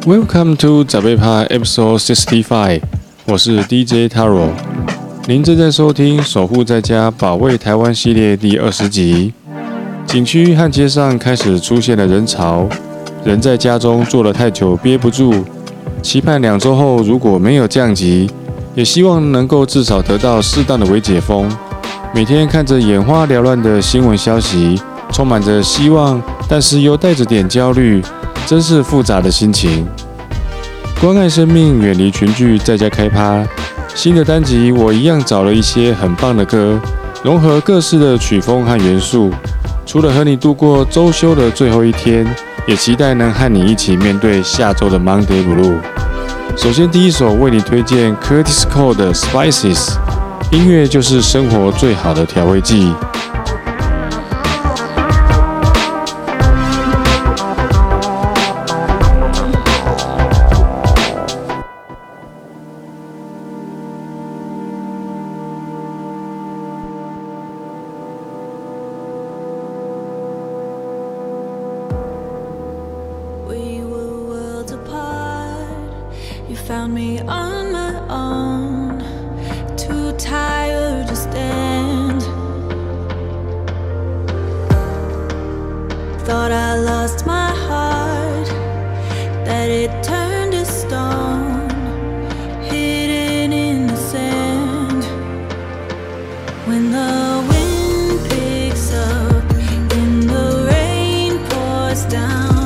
Welcome to 早被趴 Episode 65，我是 DJ Taro， 您正在收听守护在家保卫台湾系列第20集。景区和街上开始出现了人潮，人在家中坐了太久憋不住，期盼2周后如果没有降级，也希望能够至少得到适当的微解封。每天看着眼花缭乱的新闻消息，充满着希望，但是又带着点焦虑，真是复杂的心情。关爱生命，远离群聚，在家开趴。新的单集我一样找了一些很棒的歌，融合各式的曲风和元素。除了和你度过周休的最后一天，也期待能和你一起面对下周的 Monday Blue。首先第一首为你推荐 Curtis Cole 的 Spices， 音乐就是生活最好的调味剂。 Found me on my own, too tired to stand. Thought I lost my heart, that it turned to stone, hidden in the sand. When the wind picks up and the rain pours down,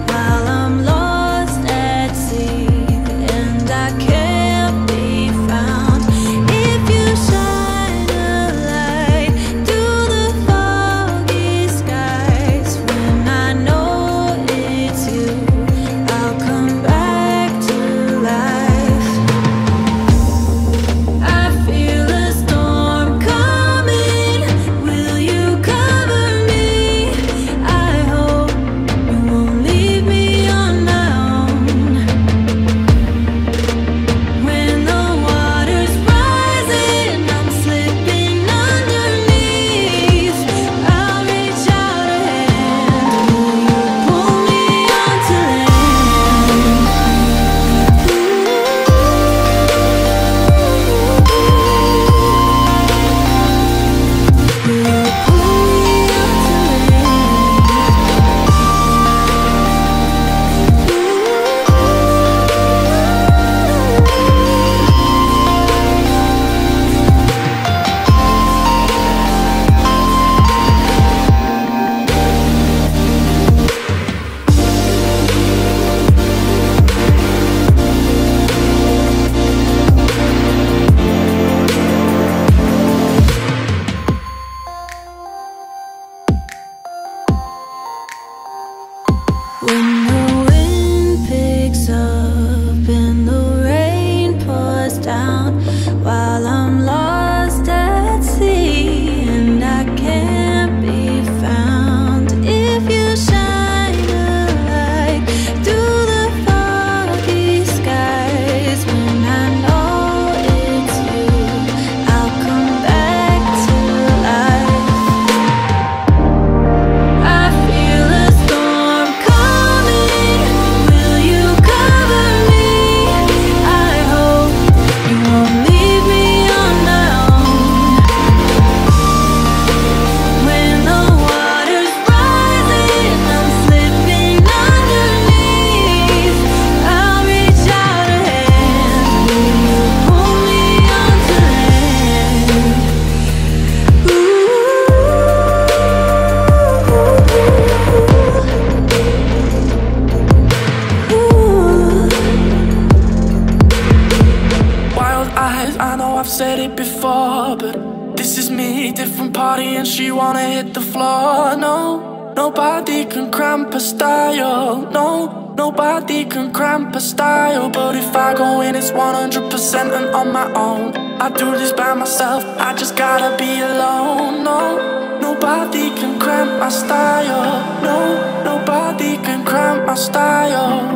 Nobody can cramp a style, no, nobody can cramp a style. But if I go in, it's 100% and on my own. I do this by myself, I just gotta be alone. No, nobody can cramp my style, no, nobody can cramp my style.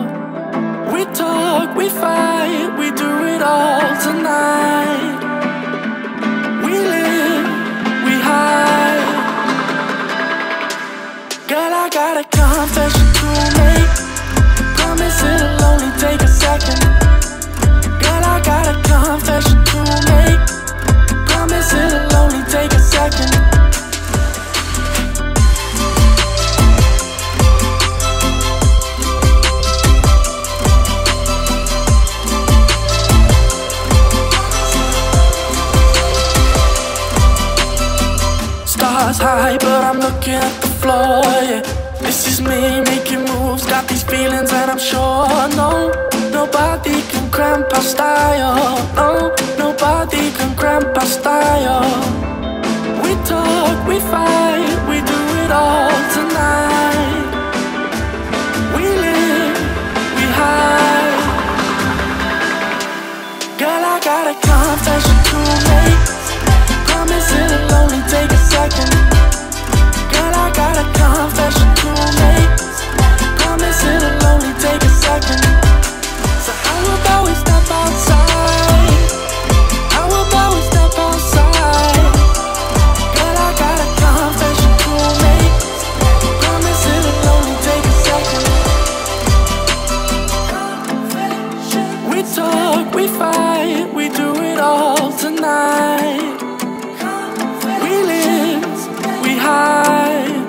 We talk, we fight, we do it all tonight. We live, we hide. Girl, I got a confession to make. Promise it'll only take second. Girl, I got a confession to make. Promise it'll only take a second. Stars high, but I'm looking at the floor, yeah. This is me making moves, got these feelings and I'm sure, no, nobody can cramp our style, no, nobody can cramp our style. We talk, we fight, we do it all tonight. We live, we hide. Girl, I got a confession to make. Promise it'll only take a second. Girl, I got a confession to make. Promise it'll only take a second. So how about we step outside? How about we step outside? Girl, I got a confession to make. Promise it'll only take a second. We talk, we fight, we do it all tonight. We live, we hide.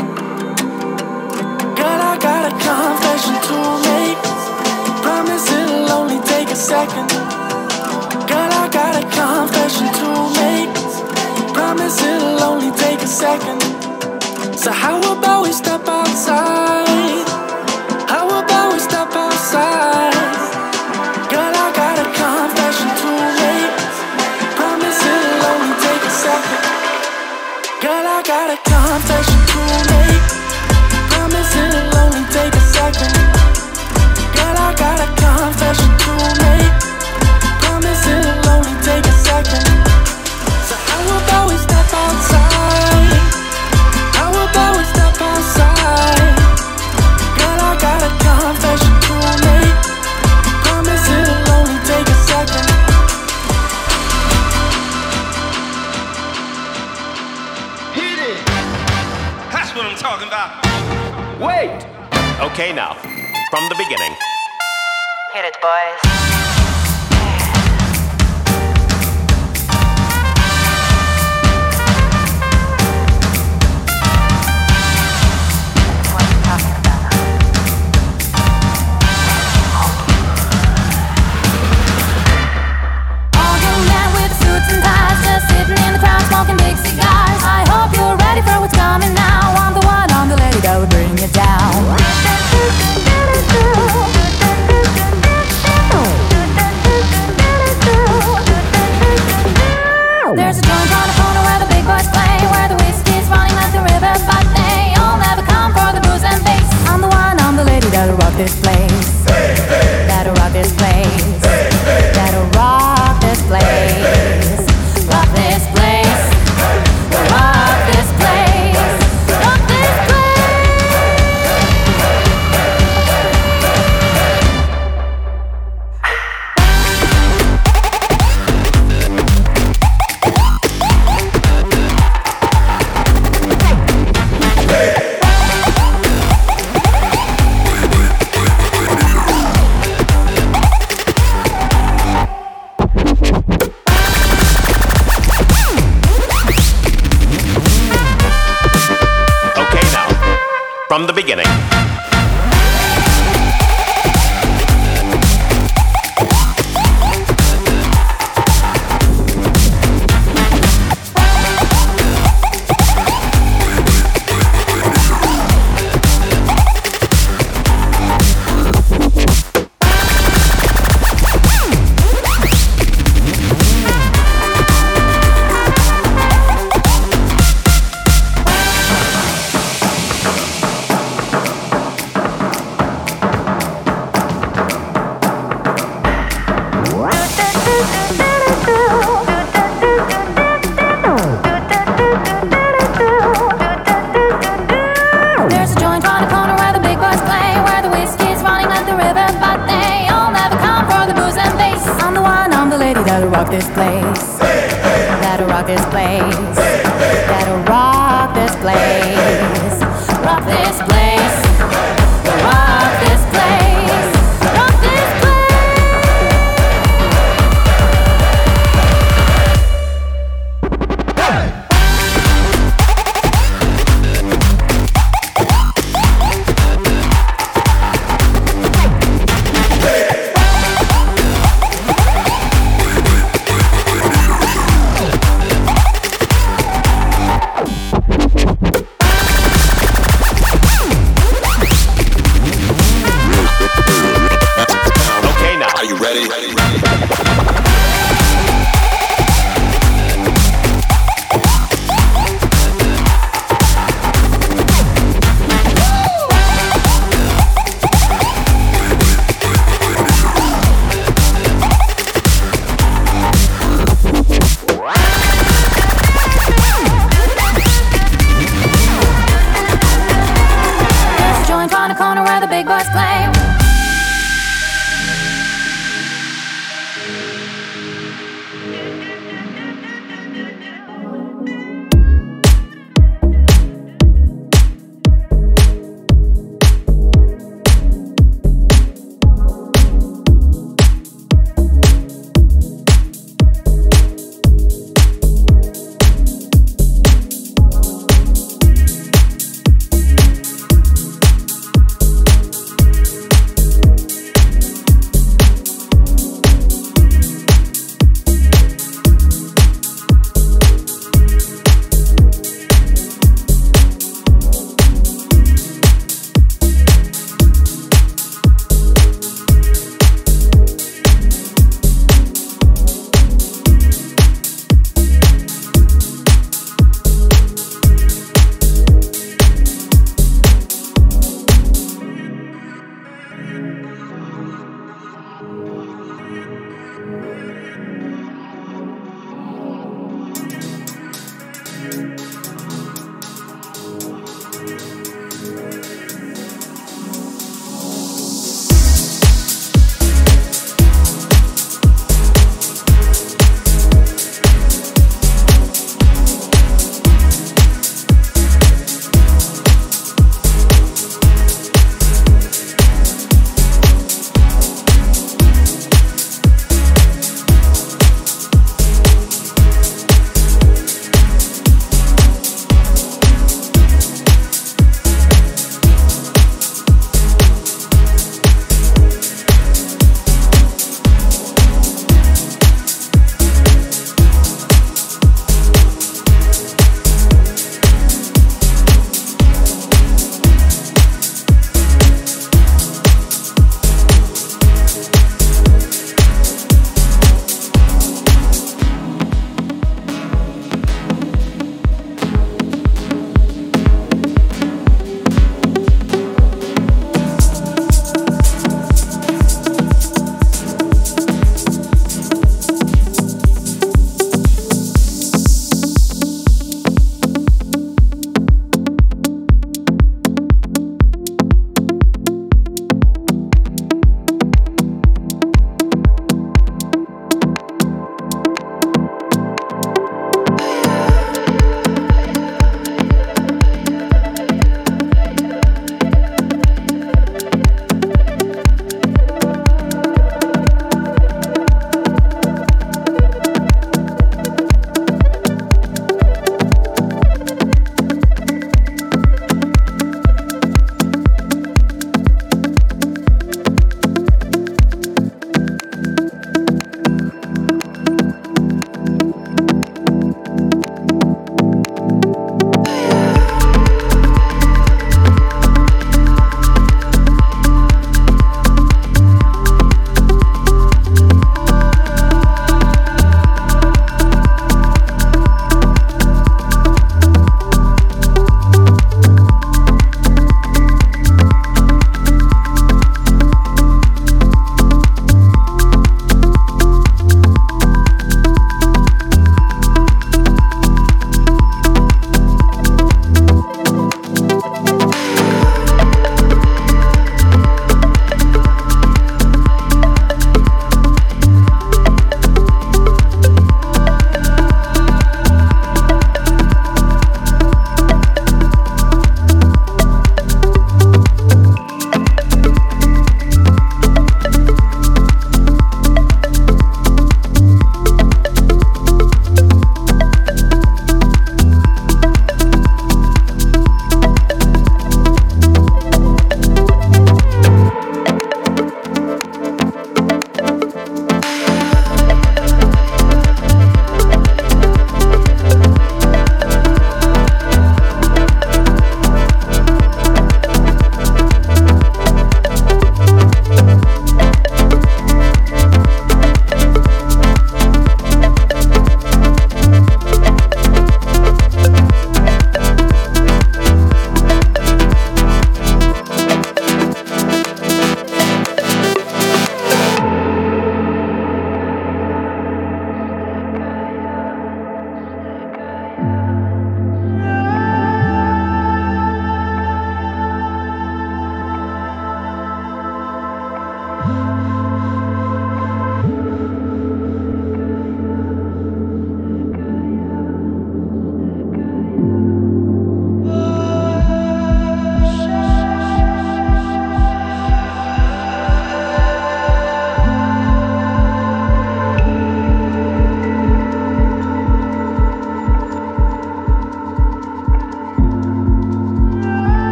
Girl, I got a confession to make. Promise it'll only take a second. Girl, I got a confession to make. Promise it'll only take a second. So how about we step outside? How about we step outside? Girl, I got a confession to make. Promise it'll only take a second. Girl, I got a confession to make. Promise it'll only take a second. Girl, I got a confession to make. Promise it'll only take a second. So how about we step outside? How about we step outside? Girl, I got a confession to make. Promise it'll only take a second. Hit it! That's what I'm talking about. Wait! Okay, now, from the beginning. Hit it, boys. Smoking big cigars. I hope you're ready for what's coming now. I'm the one, I'm the lady that would bring you down. There's a joint on the corner where the big boys play, where the whiskey's running like the river, but they all never come for the booze and bass. I'm the one, I'm the lady that'll rock this place. That'll rock this place. That'll rock this place. Rock this place. Rock this place. Rock this From the beginning. That'll rock this place. That'll rock this place. That'll rock this place. Rock this place. Rock this place. Rock this place.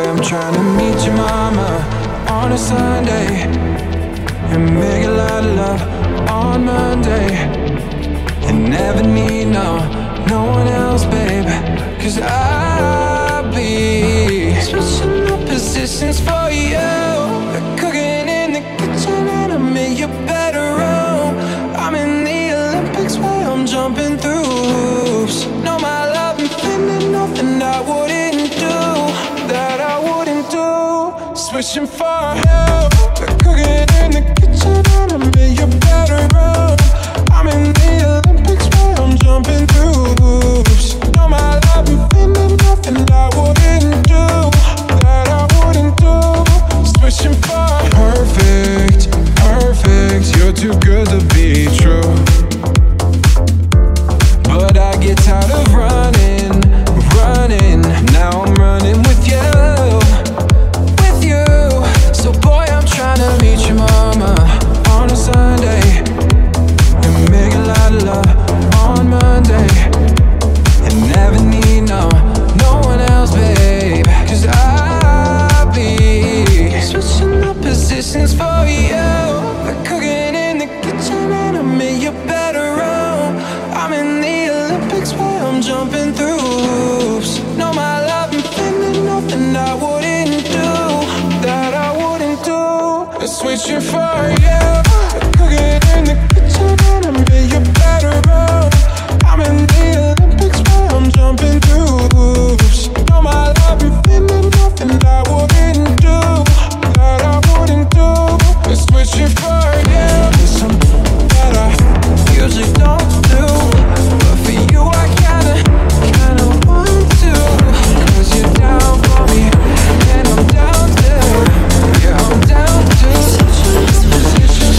I'm trying to meet your mama on a Sunday and make a lot of love on Monday and never need no one else, babe. 'Cause I'll be switching up positions for you, cooking in the kitchen and I'm in your bedroom. I'm in the Olympics where I'm jumping through hoops. No, my love and feeling nothing I wouldn't do, that I wouldn't do. Switching for you, cooking in the kitchen and I'm in your bedroom. I'm in the Olympics where I'm jumping through hoops. No, my love and feeling nothing I wouldn't do, that I wouldn't do. Switching for perfect, perfect. You're too good to be true. But I get tired of running. Now I'm running with you. So boy, I'm trying to meet your mama on a Sunday and make a lot of love on Monday and never need no one else, babe. 'Cause I'll be switching up positions for you, cooking in the kitchen and I'm in your bedroom. I'm in the Olympics where I'm jumping through hoops. No, my love and feeling nothing I wouldn't do, that I wouldn't do. Switching for you, cooking in the kitchen and I'm in your bedroom. I'm in the Olympics where I'm jumping through hoops. No, my love and feeling nothing I wouldn't do, that I wouldn't do. Switching for you, something that I usually don't do, but for you I kinda want to. 'Cause you're down for me and I'm down too. Yeah, I'm down too. Switching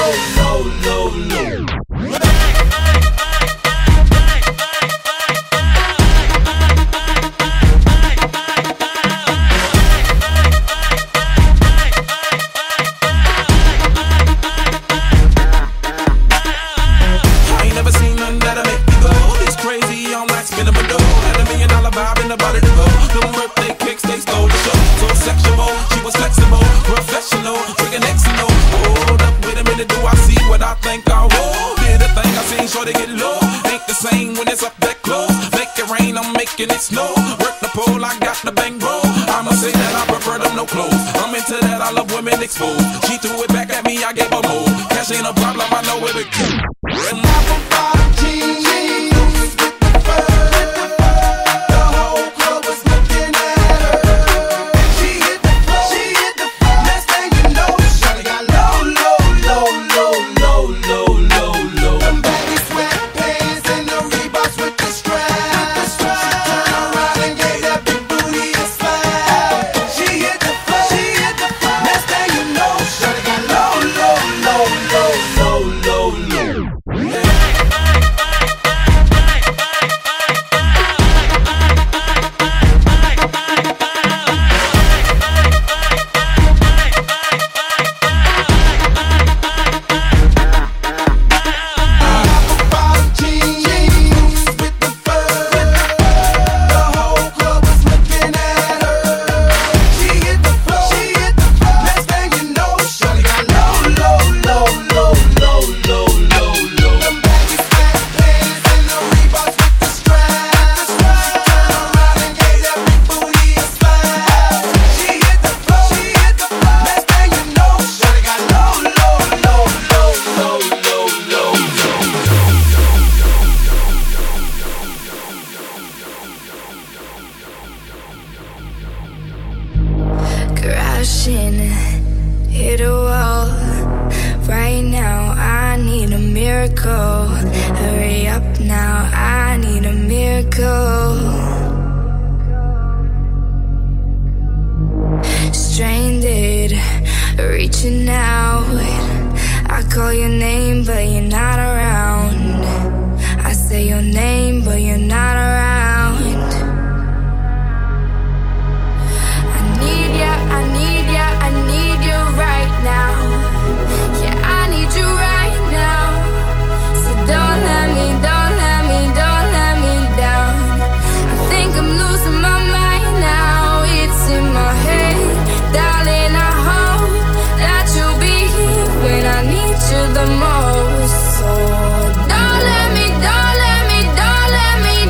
It snow, work the pole, I got the bang roll. I'ma say that I prefer them no clothes. I'm into that, I love women exposed. She threw it back at me, I gave her more. Cash ain't a problem, I know where to go. Hit a wall. Right now, I need a miracle. Hurry up now, I need a miracle. Stranded, reaching out. I call your name, but you're not around. I say your name, but you're not around. I need you right now. Yeah, I need you right now. So don't let me down. I think I'm losing my mind now. It's in my head, darling. I hope that you'll be here when I need you the most. So don't let me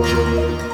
拜。